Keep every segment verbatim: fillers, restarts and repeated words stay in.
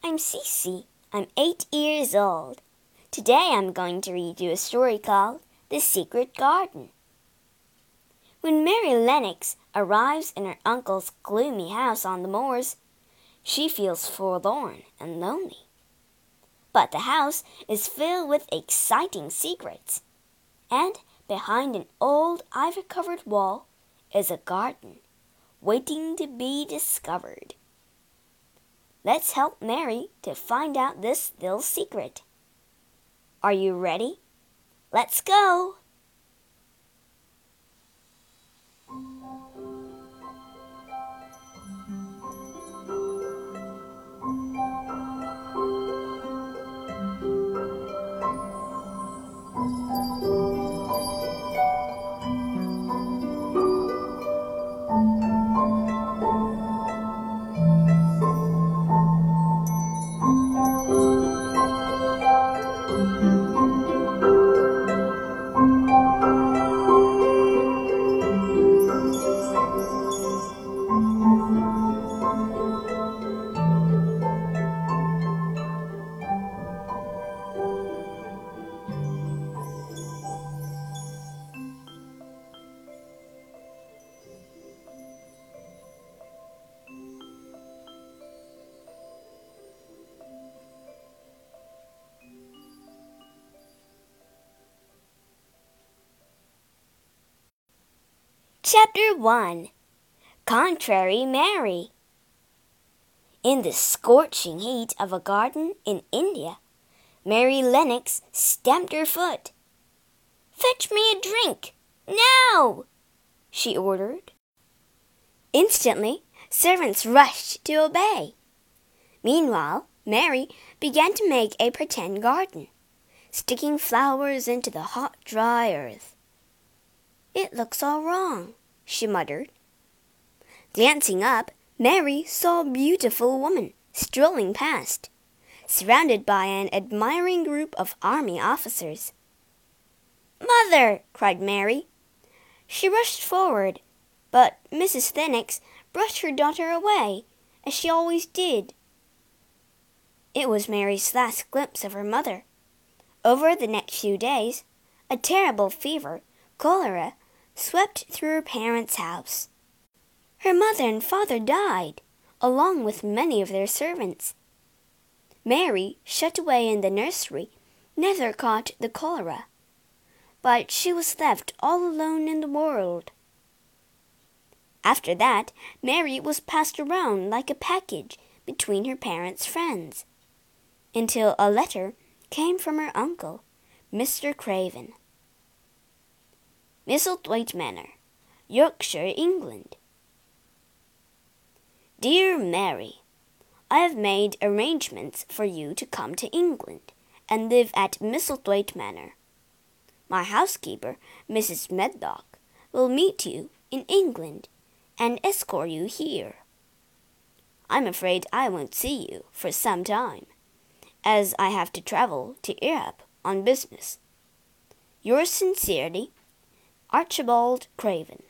I'm Cece. I'm eight years old. Today I'm going to read you a story called The Secret Garden. When Mary Lennox arrives in her uncle's gloomy house on the moors, she feels forlorn and lonely. But the house is filled with exciting secrets, and behind an old ivy-covered wall is a garden waiting to be discovered. Let's help Mary to find out this little secret. Are you ready? Let's go! Chapter one. Contrary Mary. In the scorching heat of a garden in India, Mary Lennox stamped her foot. "Fetch me a drink, now!" she ordered. Instantly, servants rushed to obey. Meanwhile, Mary began to make a pretend garden, sticking flowers into the hot, dry earth. "It looks all wrong," she muttered. Glancing up, Mary saw a beautiful woman strolling past, surrounded by an admiring group of army officers. "Mother!" cried Mary. She rushed forward, but Missus Lennox brushed her daughter away, as she always did. It was Mary's last glimpse of her mother. Over the next few days, a terrible fever, cholera, swept through her parents' house. Her mother and father died, along with many of their servants. Mary, shut away in the nursery, never caught the cholera, but she was left all alone in the world. After that, Mary was passed around like a package between her parents' friends, until a letter came from her uncle, Mister Craven. Misselthwaite Manor, Yorkshire, England. Dear Mary, I have made arrangements for you to come to England and live at Misselthwaite Manor. My housekeeper, Missus Medlock, will meet you in England and escort you here. I'm afraid I won't see you for some time, as I have to travel to Europe on business. Yours sincerely, Archibald Craven.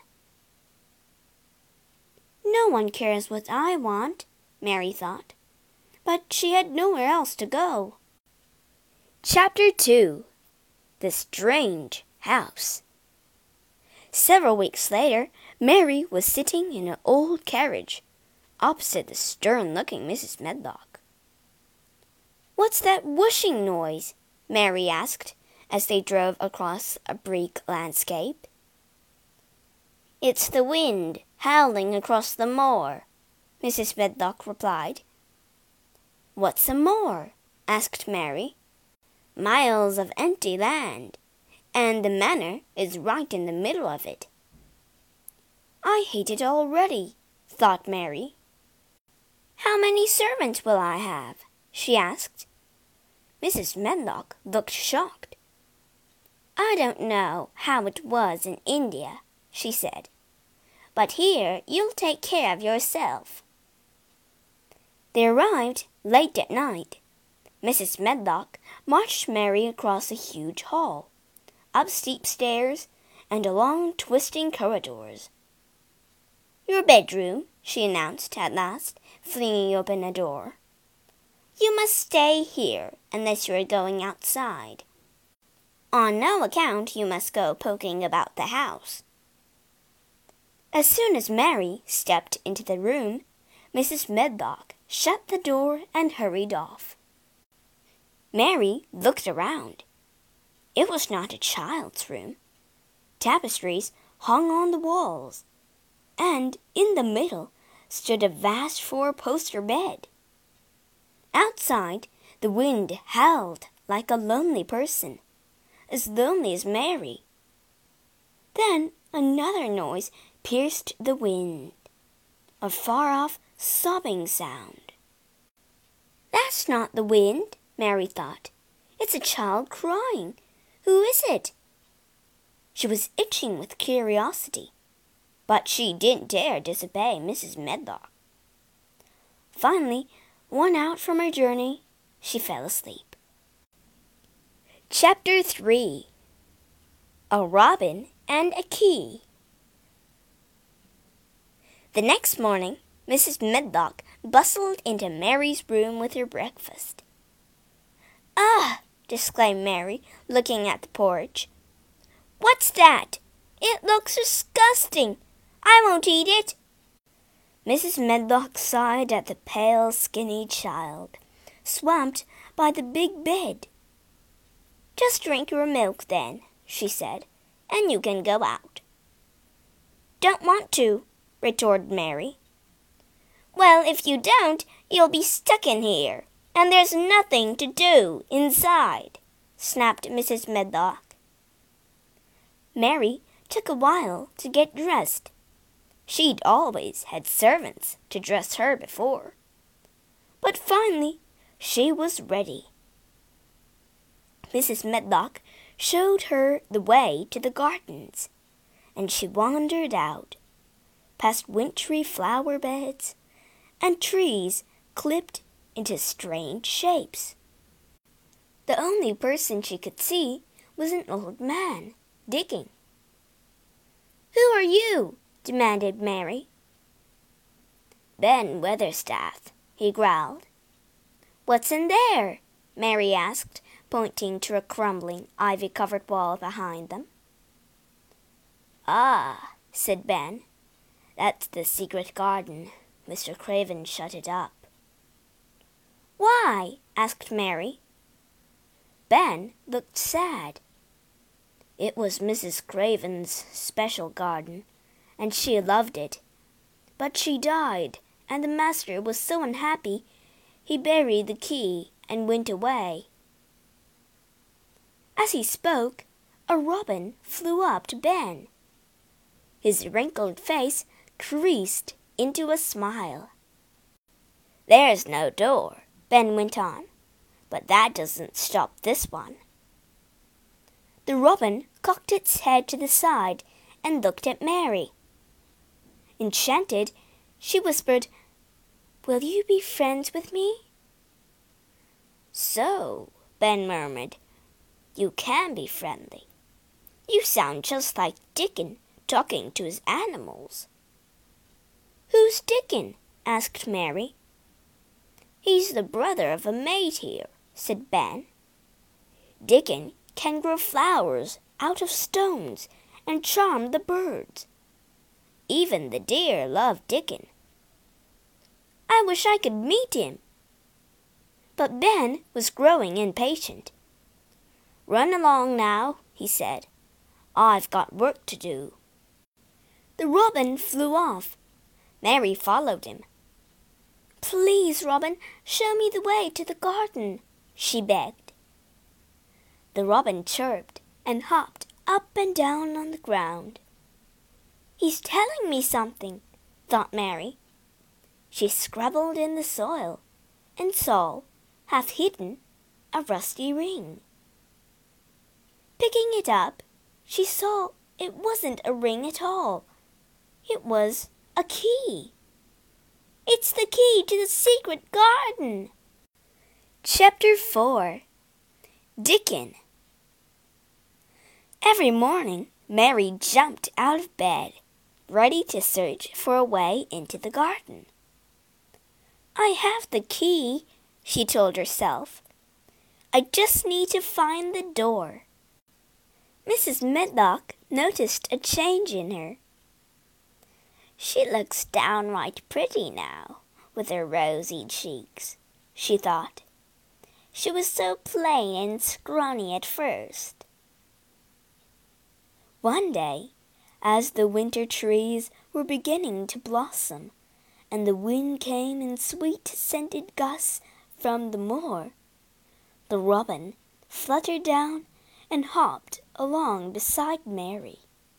No one cares what I want, Mary thought, but she had nowhere else to go. Chapter two. The Strange House. Several weeks later, Mary was sitting in an old carriage, opposite the stern-looking Missus Medlock. "What's that whooshing noise?" Mary asked, as they drove across a bleak landscape. "It's the wind howling across the moor," Missus Medlock replied. "What's a moor?" asked Mary. "Miles of empty land, and the manor is right in the middle of it." "I hate it already," thought Mary. "How many servants will I have?" she asked. Missus Medlock looked shocked. "I don't know how it was in India," she said, "but here you'll take care of yourself." They arrived late at night. Missus Medlock marched Mary across a huge hall, up steep stairs, and along twisting corridors. "Your bedroom," she announced at last, flinging open a door. You must stay here unless you are going outside. On no account you must go poking about the house." As soon as Mary stepped into the room, Missus Medlock shut the door and hurried off. Mary looked around. It was not a child's room. Tapestries hung on the walls, and in the middle stood a vast four-poster bed. Outside, the wind howled like a lonely person, as lonely as Mary. Then another noise pierced the wind, a far-off sobbing sound. "That's not the wind," Mary thought. "It's a child crying. Who is it?" She was itching with curiosity, but she didn't dare disobey Missus Medlock. Finally, worn out from her journey, she fell asleep. Chapter three. A Robin and a Key. The next morning, Missus Medlock bustled into Mary's room with her breakfast. "Ugh!" exclaimed Mary, looking at the porridge. "What's that? It looks disgusting. I won't eat it." Missus Medlock sighed at the pale, skinny child, swamped by the big bed. "Just drink your milk, then," she said, "and you can go out." "Don't want to," retorted Mary. "Well, if you don't, you'll be stuck in here, and there's nothing to do inside," snapped Missus Medlock. Mary took a while to get dressed. She'd always had servants to dress her before. But finally she was ready. Missus Medlock showed her the way to the gardens, and she wandered out, past wintry flower beds and trees clipped into strange shapes. The only person she could see was an old man, digging. "Who are you?" demanded Mary. "Ben Weatherstaff," he growled. "What's in there?" Mary asked, pointing to a crumbling, ivy-covered wall behind them. "Ah," said Ben, "that's the secret garden. Mister Craven shut it up." "Why?" asked Mary. Ben looked sad. It was Missus Craven's special garden, and she loved it. But she died, and the master was so unhappy, he buried the key and went away. As he spoke, a robin flew up to Ben. His wrinkled face creased into a smile. "There's no door," Ben went on, "but that doesn't stop this one." The robin cocked its head to the side and looked at Mary. Enchanted, she whispered, "Will you be friends with me?" "So," Ben murmured, "you can be friendly. You sound just like Dickon talking to his animals." "Who's Dickon?" asked Mary. "He's the brother of a maid here," said Ben. "Dickon can grow flowers out of stones and charm the birds. Even the deer love Dickon." "I wish I could meet him." But Ben was growing impatient. "Run along now," he said. "I've got work to do." The robin flew off. Mary followed him. "Please, Robin, show me the way to the garden," she begged. The robin chirped and hopped up and down on the ground. "He's telling me something," thought Mary. She scrabbled in the soil and saw, half hidden, a rusty ring. Picking it up, she saw it wasn't a ring at all. It was a key. "It's the key to the secret garden." Chapter four. Dickon. Every morning, Mary jumped out of bed, ready to search for a way into the garden. "I have the key," she told herself. I just need to find the door. Missus Medlock noticed a change in her. She looks downright pretty now, with her rosy cheeks, she thought. She was so plain and scrawny at first. One day, as the winter trees were beginning to blossom, and the wind came in sweet-scented gusts from the moor, the robin fluttered down and hopped along beside Mary.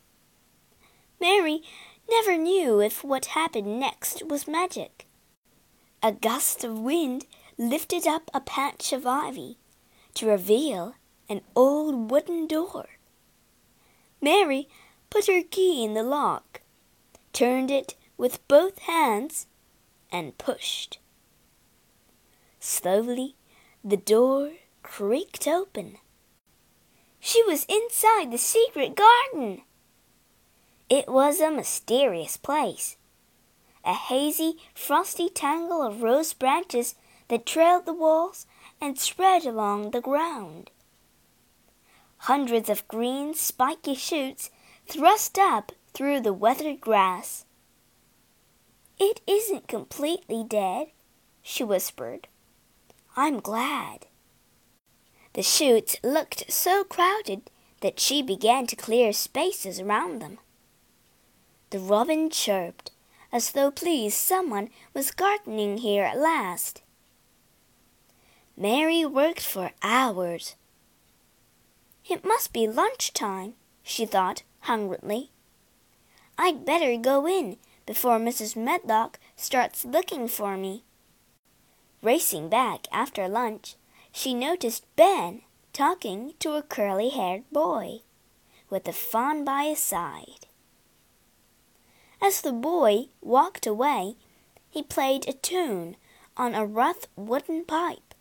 Mary never knew if what happened next was magic. A gust of wind lifted up a patch of ivy to reveal an old wooden door. Mary put her key in the lock, turned it with both hands, and pushed. Slowly, the door creaked open. She was inside the secret garden. It was a mysterious place, a hazy, frosty tangle of rose branches that trailed the walls and spread along the ground. Hundreds of green, spiky shoots thrust up through the weathered grass. It isn't completely dead, she whispered. I'm glad. The shoots looked so crowded that she began to clear spaces around them. The robin chirped, as though pleased someone was gardening here at last. Mary worked for hours. It must be lunchtime, she thought hungrily. I'd better go in before Missus Medlock starts looking for me. Racing back after lunch, she noticed Ben talking to a curly-haired boy, with a fawn by his side. As the boy walked away, he played a tune on a rough wooden pipe.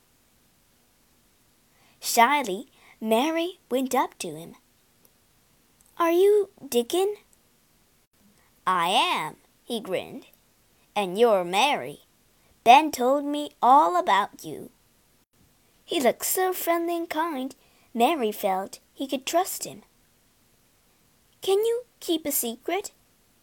Shyly, Mary went up to him. Are you Dickon? I am, he grinned. And you're Mary. Ben told me all about you. He looked so friendly and kind, Mary felt he could trust him. Can you keep a secret?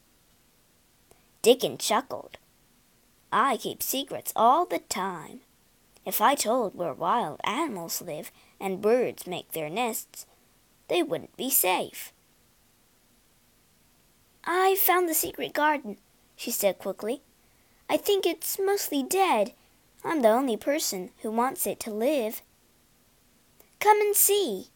Dickon chuckled. I keep secrets all the time. If I told where wild animals live and birds make their nests, they wouldn't be safe. I found the secret garden, she said quickly. I think it's mostly dead. I'm the only person who wants it to live. Come and see.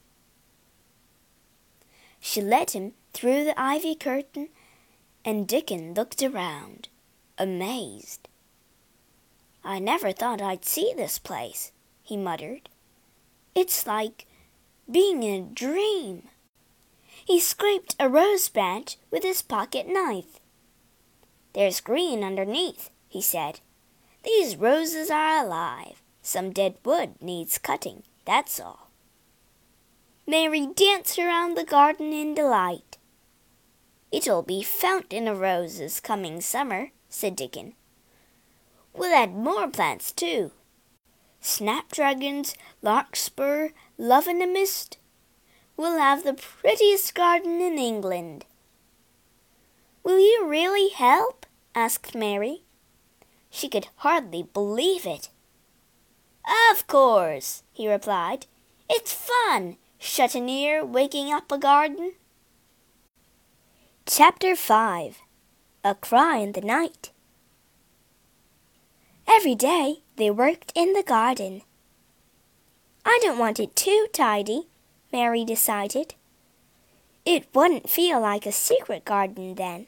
She led him through the ivy curtain, and Dickon looked around, amazed. I never thought I'd see this place, he muttered. It's like being in a dream. He scraped a rose branch with his pocket knife. There's green underneath, he said. These roses are alive. Some dead wood needs cutting, that's all. Mary danced around the garden in delight. It'll be fountain of roses coming summer, said Dickon. We'll add more plants, too. Snapdragons, larkspur, love-in-a-mist. We'll have the prettiest garden in England. Will you really help? Asked Mary. She could hardly believe it. Of course, he replied. It's fun, shut-in here waking up a garden. Chapter five. A Cry in the Night. Every day they worked in the garden. I don't want it too tidy, Mary decided. It wouldn't feel like a secret garden then.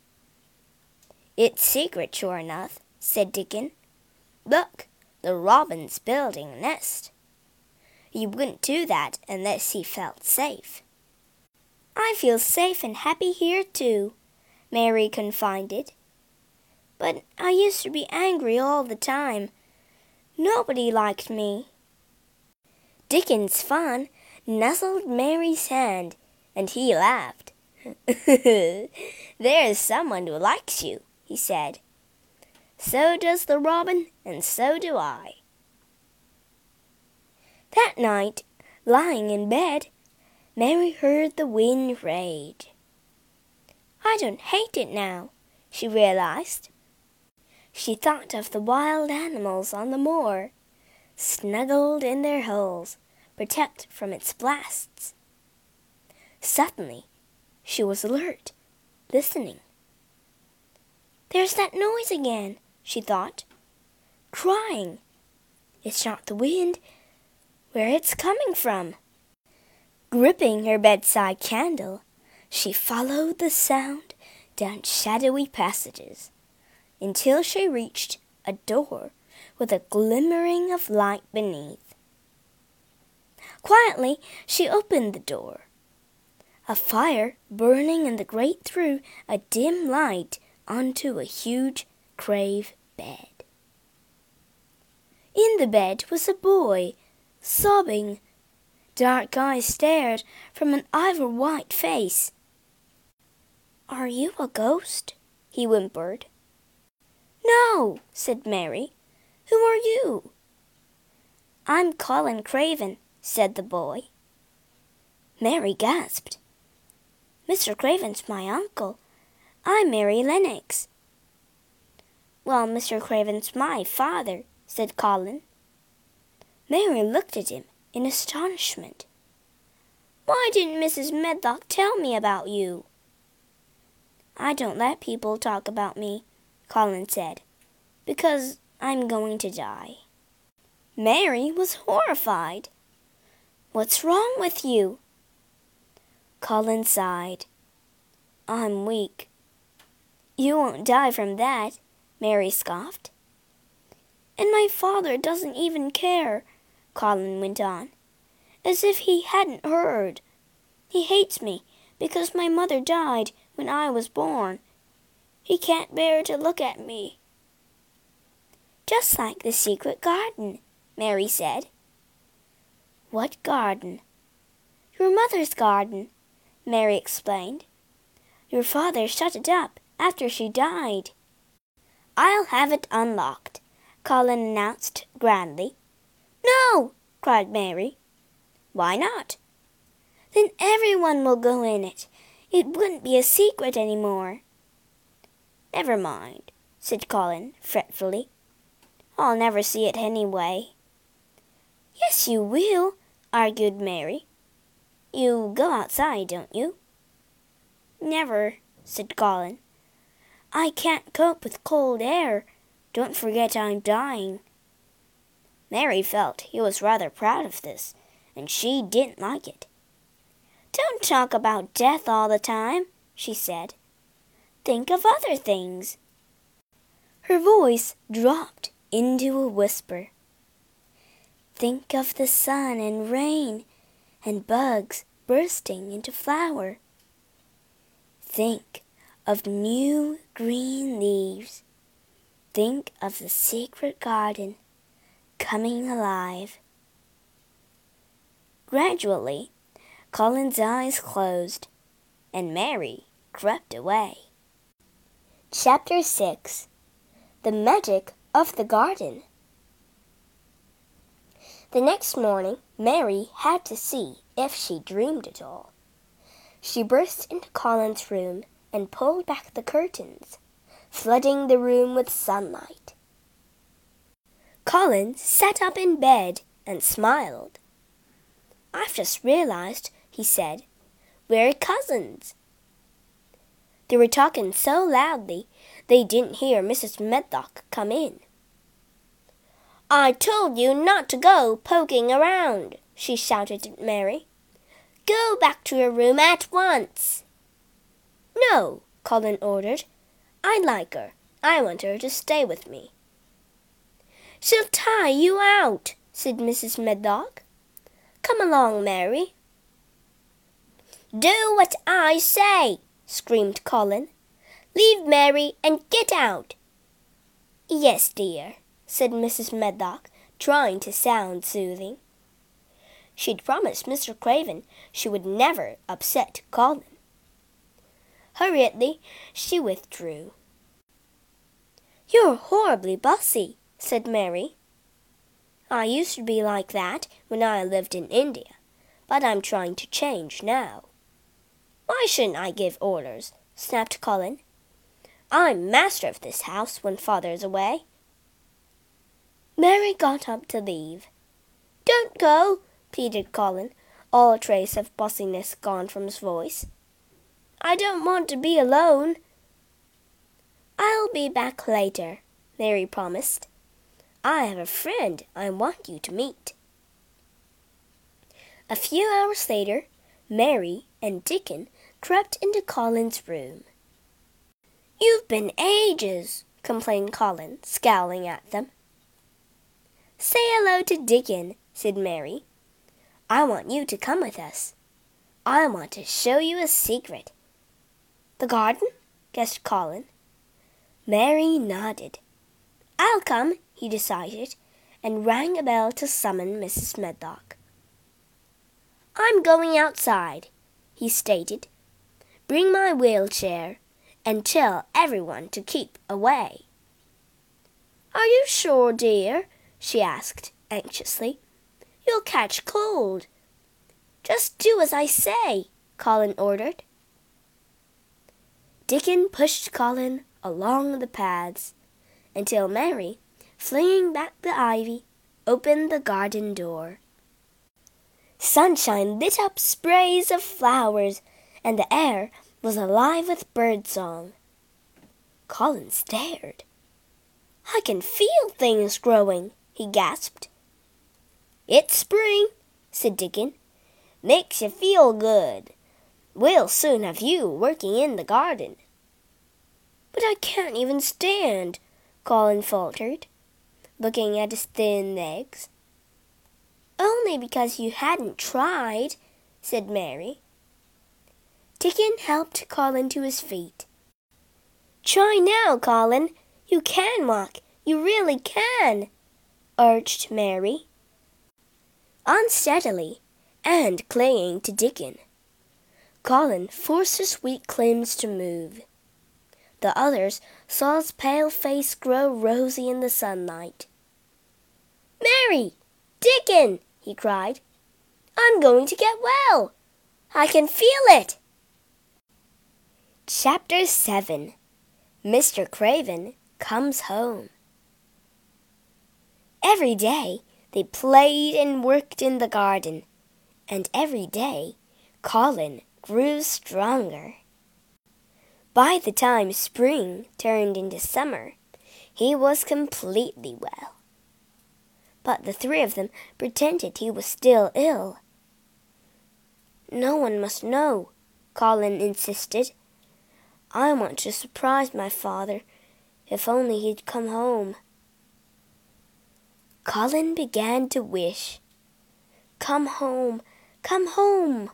It's secret, sure enough, said Dickon. Look, the robin's building a nest. He wouldn't do that unless he felt safe. I feel safe and happy here too, Mary confided. But I used to be angry all the time. Nobody liked me. Dickon's fawn nuzzled Mary's hand, and he laughed. There's someone who likes you, he said. So does the robin, and so do I. That night, lying in bed, Mary heard the wind rage. I don't hate it now, she realized. She thought of the wild animals on the moor, snuggled in their holes, protected from its blasts. Suddenly, she was alert, listening. There's that noise again, she thought. Crying. It's not the wind. Where it's coming from? Gripping her bedside candle, she followed the sound down shadowy passages until she reached a door with a glimmering of light beneath. Quietly, she opened the door. A fire burning in the grate threw a dim light onto a huge crave bed. In the bed was a boy, sobbing. Dark eyes stared from an ivory-white face. Are you a ghost? He whimpered. No, said Mary. Who are you? I'm Colin Craven, said the boy. Mary gasped. Mister Craven's my uncle. I'm Mary Lennox. Well, Mister Craven's my father, said Colin. Mary looked at him in astonishment. Why didn't Missus Medlock tell me about you? I don't let people talk about me, Colin said, because I'm going to die. Mary was horrified. What's wrong with you? Colin sighed. I'm weak. You won't die from that, Mary scoffed. And my father doesn't even care, Colin went on, as if he hadn't heard. He hates me because my mother died when I was born. He can't bear to look at me. Just like the secret garden, Mary said. What garden? Your mother's garden, Mary explained. Your father shut it up after she died. I'll have it unlocked, Colin announced grandly. No, cried Mary. Why not? Then everyone will go in it. It wouldn't be a secret any more. Never mind, said Colin fretfully. I'll never see it anyway. Yes, you will, argued Mary. You go outside, don't you? Never, said Colin. I can't cope with cold air. Don't forget I'm dying. Mary felt he was rather proud of this, and she didn't like it. Don't talk about death all the time, she said. Think of other things. Her voice dropped into a whisper. Think of the sun and rain and bugs bursting into flower. Think of new green leaves. Think of the secret garden coming alive. Gradually, Colin's eyes closed, and Mary crept away. Chapter six. The Magic of the Garden. The next morning, Mary had to see if she dreamed at all. She burst into Colin's room and pulled back the curtains, flooding the room with sunlight. Colin sat up in bed and smiled. I've just realized, he said, we're cousins. They were talking so loudly they didn't hear Missus Medlock come in. I told you not to go poking around, she shouted at Mary. Go back to your room at once. No, Colin ordered. I like her. I want her to stay with me. She'll tire you out, said Missus Medlock. Come along, Mary. Do what I say, screamed Colin. Leave Mary and get out. Yes, dear, said Missus Medlock, trying to sound soothing. She'd promised Mister Craven she would never upset Colin. Hurriedly, she I used to be like that when I lived in India, but I'm trying to change now." "Why shouldn't I give orders?" snapped Colin. "I'm master of this house when Father's away." Mary got up to leave. "Don't go," pleaded Colin, all trace of bossiness gone from his voice. "I don't want to be alone." "I'll be back later," Mary promised. "I have a friend I want you to meet." A few hours later, Mary and Dickon crept into Colin's room. "You've been ages," complained Colin, scowling at them. "Say hello to Dickon," said Mary. "I want you to come with us. I want to show you a secret." "The garden?" guessed Colin. Mary nodded. "I'll come," he decided, and rang a bell to summon Missus Medlock. "I'm going outside," he stated. "Bring my wheelchair, and tell everyone to keep away." "Are you sure, dear?" she asked anxiously. "You'll catch cold." "Just do as I say," Colin ordered. Dickon pushed Colin along the paths until Mary, flinging back the ivy, opened the garden door. Sunshine lit up sprays of flowers, and the air was alive with birdsong. Colin stared. "I can feel things growing," he gasped. "It's spring," said Dickon. "Makes you feel good. We'll soon have you working in the garden." "But I can't even stand," Colin faltered, looking at his thin legs. "Only because you hadn't tried," said Mary. Dickon helped Colin to his feet. "Try now, Colin. You can walk. You really can," urged Mary. Unsteadily, and clinging to Dickon, Colin forced his weak limbs to move. The others saw his pale face grow rosy in the sunlight. "Mary! Dickon!" he cried. "I'm going to get well. I can feel it." Chapter seven. Mister Craven Comes Home. Every day they played and worked in the garden, and every day Colin grew stronger. By the time spring turned into summer, he was completely well. But the three of them pretended he was still ill. "No one must know," Colin insisted. "I want to surprise my father. If only he'd come home." Colin began to wish. "Come home, come home."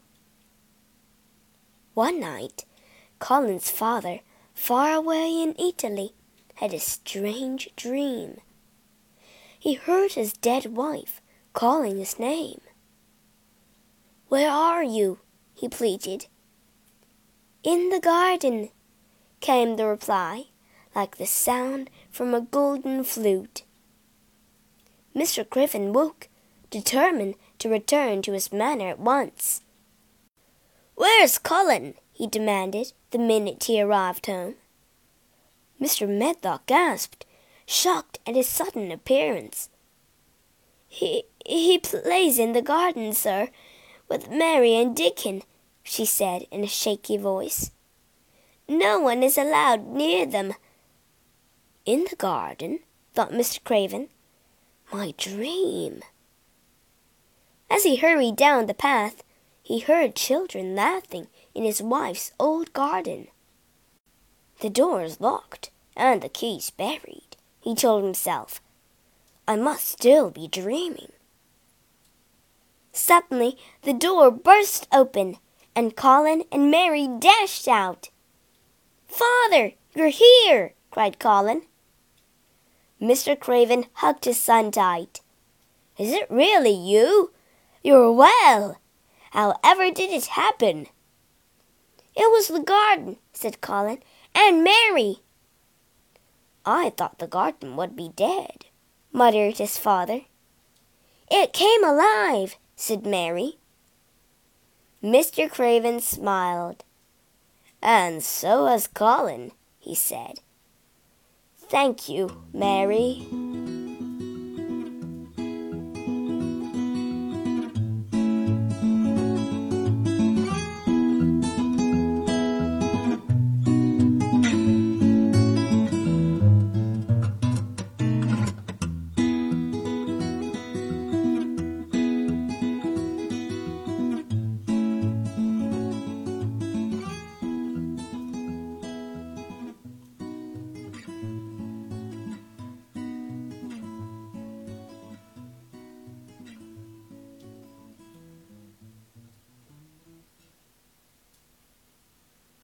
One night, Colin's father, far away in Italy, had a strange dream. He heard his dead wife calling his name. "Where are you?" he pleaded. "In the garden," came the reply, like the sound from a golden flute. Mister Craven woke, determined to return to his manor at once. "Where's Colin?" he demanded the minute he arrived home. Mister Medlock gasped, shocked at his sudden appearance. He he plays in the garden, sir, with Mary and Dickon," she said in a shaky voice. "No one is allowed near them." "In the garden?" thought Mister Craven. "My dream." As he hurried down the path, he heard children laughing in his wife's old garden. "The door is locked and the keys buried," he told himself. "I must still be dreaming." Suddenly, the door burst open, and Colin and Mary dashed out. "Father, you're here!" cried Colin. Mister Craven hugged his son tight. "Is it really you? You're well! However did it happen?" "It was the garden," said Colin, "and Mary." "I thought the garden would be dead," muttered his father. It came alive, said Mary. Mister Craven smiled. And so has Colin, he said. Thank you, Mary.